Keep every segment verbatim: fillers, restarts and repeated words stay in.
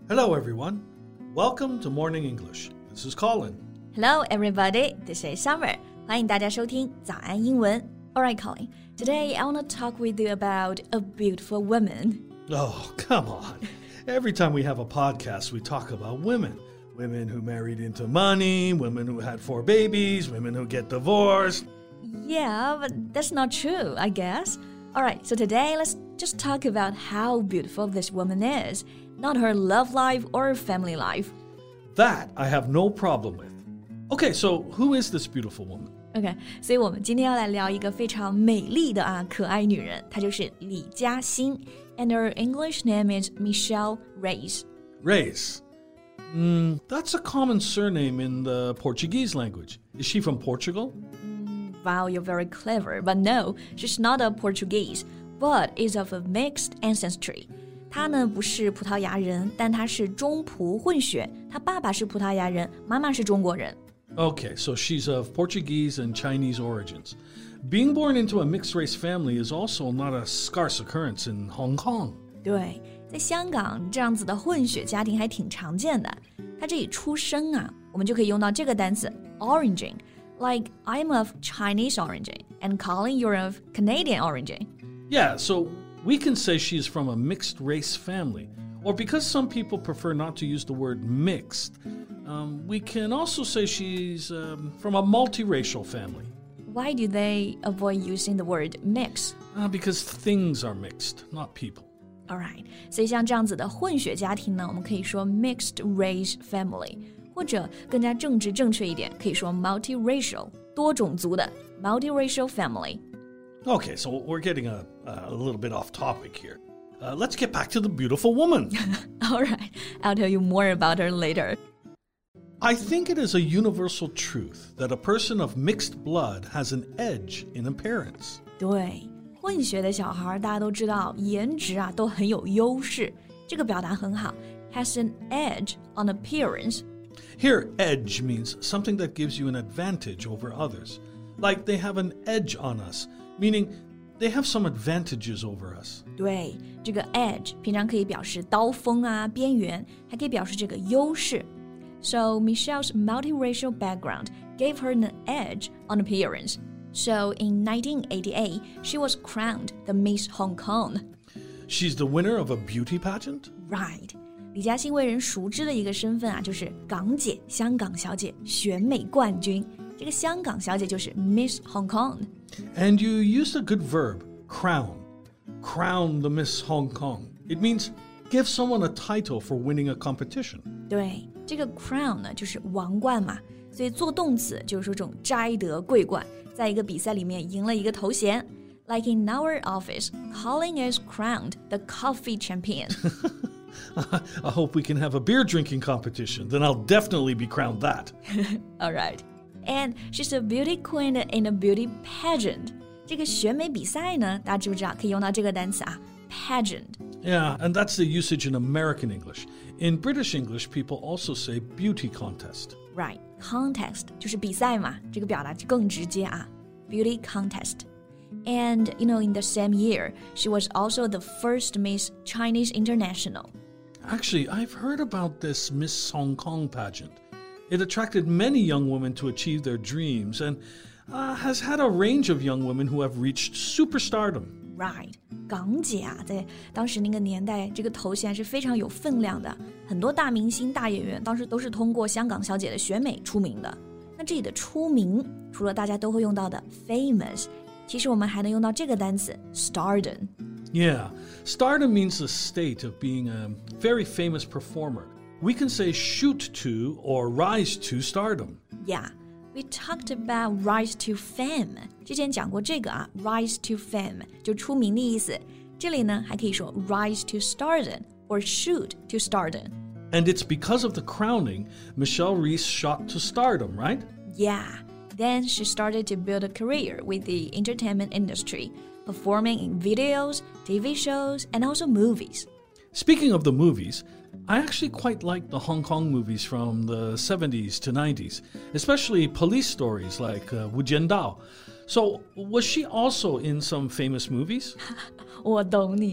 Hello, everyone. Welcome to Morning English. This is Colin. Hello, everybody. This is Summer. 欢迎大家收听早安英文。All right, Colin. Today, I want to talk with you about a beautiful woman. Oh, come on. Every time we have a podcast, we talk about women. Women who married into money, women who had four babies, women who get divorced. Yeah, but that's not true, I guess. All right, so today, let's just talk about how beautiful this woman is, not her love life or family life. That I have no problem with. Okay, so who is this beautiful woman? OK, 所以我们今天要来聊一个非常美丽的啊可爱女人，她就是李嘉欣 and her English name is Michelle Reyes. Reyes. Mm, that's a common surname in the Portuguese language. Is she from Portugal? Wow, you're very clever, but no, she's not a Portuguese, but is of a mixed ancestry. 她呢不是葡萄牙人，但她是中葡混血，她爸爸是葡萄牙人，妈妈是中国人。 Okay, so she's of Portuguese and Chinese origins. Being born into a mixed-race family is also not a scarce occurrence in Hong Kong. 对，在香港这样子的混血家庭还挺常见的。她这里出生啊，我们就可以用到这个单词 origin, like I'm of Chinese origin and Colin, you're of Canadian origin. Yeah, so we can say she's from a mixed-race family. Or because some people prefer not to use the word mixed, um, we can also say she's um, from a multiracial family. Why do they avoid using the word mix? Uh, because things are mixed, not people. Alright, 所以像这样子的混血家庭呢，我们可以说 mixed race family， 或者更加政治正确一点，可以说 multiracial， 多种族的 multiracial family. Okay, so we're getting a, a little bit off topic here. Uh, let's get back to the beautiful woman. All right, I'll tell you more about her later. I think it is a universal truth that a person of mixed blood has an edge in appearance. 对，混血的小孩大家都知道，颜值啊都很有优势。这个表达很好 ，has an edge on appearance. Here, edge means something that gives you an advantage over others. Like they have an edge on us, meaning they have some advantages over us. 对，这个 edge 平常可以表示刀锋啊、边缘，还可以表示这个优势。So Michelle's multiracial background gave her an edge on appearance. So in nineteen eighty-eight, she was crowned the Miss Hong Kong. She's the winner of a beauty pageant? Right. 李嘉欣为人熟知的一个身份啊，就是港姐、香港小姐、选美冠军。这个香港小姐就是 Miss Hong Kong. And you used a good verb, crown. Crown the Miss Hong Kong. It means give someone a title for winning a competition. 对，这个 crown 呢就是王冠嘛，所以做动词就是说这種摘得桂冠，在一个比赛里面赢了一个头衔。Like in our office, Colin is crowned the coffee champion. I hope we can have a beer drinking competition. Then I'll definitely be crowned that. All right. And she's a beauty queen in a beauty pageant. 这个选美比赛呢，大家知不知道可以用到这个单词啊 pageant. Yeah, and that's the usage in American English. In British English, people also say beauty contest. Right, contest 就是比赛嘛，这个表达更直接啊 beauty contest. And, you know, in the same year, she was also the first Miss Chinese International. Actually, I've heard about this Miss Hong Kong pageant. It attracted many young women to achieve their dreams and uh, has had a range of young women who have reached superstardom. Right. 港姐啊，在当时那个年代，这个头衔是非常有分量的。很多大明星、大演员当时都是通过香港小姐的选美出名的。那这里的出名，除了大家都会用到的 famous， 其实我们还能用到这个单词 stardom. Yeah, stardom means the state of being a very famous performer. We can say shoot to or rise to stardom. Yeah, we talked about rise to fame. 之前讲过这个啊 rise to fame 就出名的意思。这里呢还可以说 rise to stardom or shoot to stardom. And it's because of the crowning, Michelle Reyes shot to stardom, right? Yeah, then she started to build a career with the entertainment industry, performing in videos, T V shows, and also movies. Speaking of the movies, I actually quite like the Hong Kong movies from the seventies to nineties, especially police stories like uh, Wu Jiandao. So, was she also in some famous movies? 我懂你，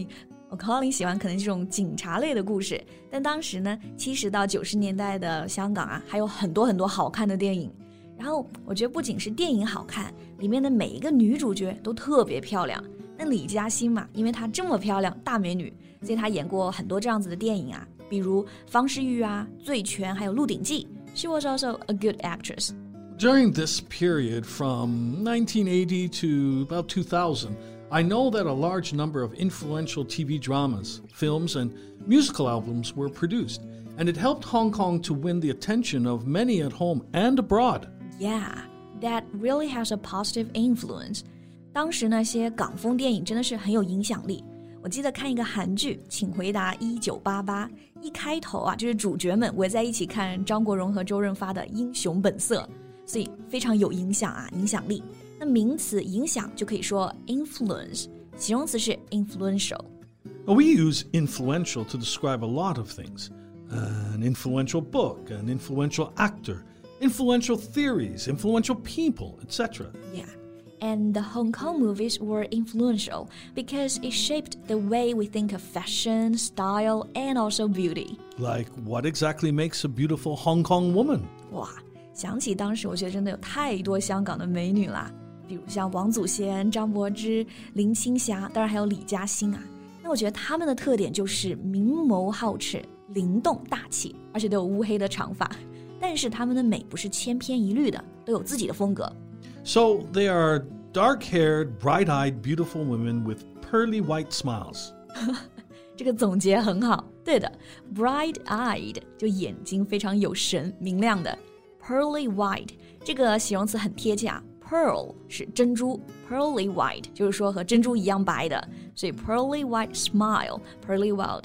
我 Colin 喜欢可能这种警察类的故事，但当时呢，七十到九十年代的香港啊，还有很多很多好看的电影。然后我觉得不仅是电影好看，里面的每一个女主角都特别漂亮。那李嘉欣嘛，因为她这么漂亮，大美女，所以她演过很多这样子的电影啊，比如方世玉啊、醉拳，还有鹿鼎记。She was also a good actress. During this period from nineteen eighty to about two thousand, I know that a large number of influential T V dramas, films, and musical albums were produced, and it helped Hong Kong to win the attention of many at home and abroad.Yeah, that really has a positive influence. 当时那些港风电影真的是很有影响力。我记得看一个韩剧，请回答一九八八，一开头啊，就是主角们围在一起看张国荣和周润发的《英雄本色》，所以非常有影响啊，影响力。那名词影响就可以说 influence， 形容词是 influential. We use influential to describe a lot of things. An influential book, an influential actor.Influential theories, influential people, et cetera. Yeah, and the Hong Kong movies were influential because it shaped the way we think of fashion, style, and also beauty. Like, what exactly makes a beautiful Hong Kong woman? 哇，想起当时我觉得真的有太多香港的美女啦，比如像王祖贤、张柏芝、林青霞，当然还有李嘉欣啊。那我觉得她们的特点就是明眸皓齿、灵动大气，而且都有乌黑的长发。但是他们的美不是千篇一律的，都有自己的风格。 So they are dark-haired, bright-eyed, beautiful women with pearly white smiles. 这个总结很好，对的 ，bright-eyed 就眼睛非常有神、明亮的 ，pearly white 这个形容词很贴切啊。Pearl 是珍珠 ，pearly white 就是说和珍珠一样白的，所以 pearly white smile, pearly white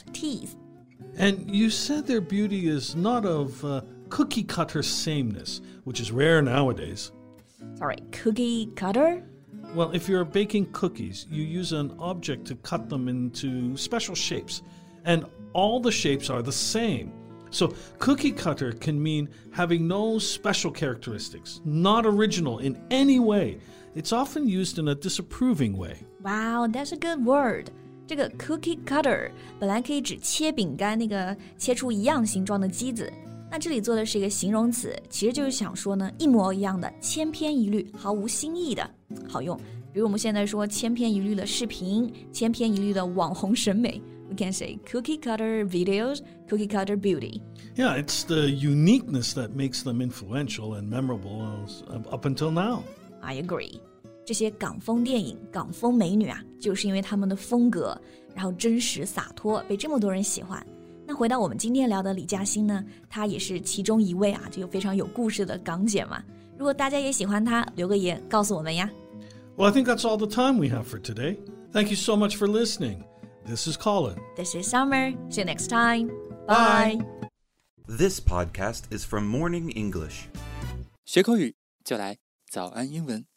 teeth. And you said their beauty is not of、uh,cookie cutter sameness, which is rare nowadays. Sorry, cookie cutter? Well, if you're baking cookies, you use an object to cut them into special shapes, and all the shapes are the same. So cookie cutter can mean having no special characteristics, not original in any way. It's often used in a disapproving way. Wow, that's a good word. 这个 cookie cutter 本来可以指切饼干那个切出一样形状的机子，那这里做的是一个形容词，其实就是想说呢，一模一样的，千篇一律，毫无新意的，好用。比如我们现在说千篇一律的视频，千篇一律的网红审美 We can say cookie cutter videos, cookie cutter beauty. Yeah, it's the uniqueness that makes them influential and memorable up until now. I agree. 这些港风电影、港风美女啊，就是因为他们的风格，然后真实洒脱，被这么多人喜欢。那回到我们今天聊的李嘉欣呢，她也是其中一位啊，这个非常有故事的港姐嘛。如果大家也喜欢她，留个言告诉我们呀。 Well, I think that's all the time we have for today. Thank you so much for listening. This is Colin. This is Summer. See you next time. Bye. This podcast is from Morning English. 学口语就来早安英文。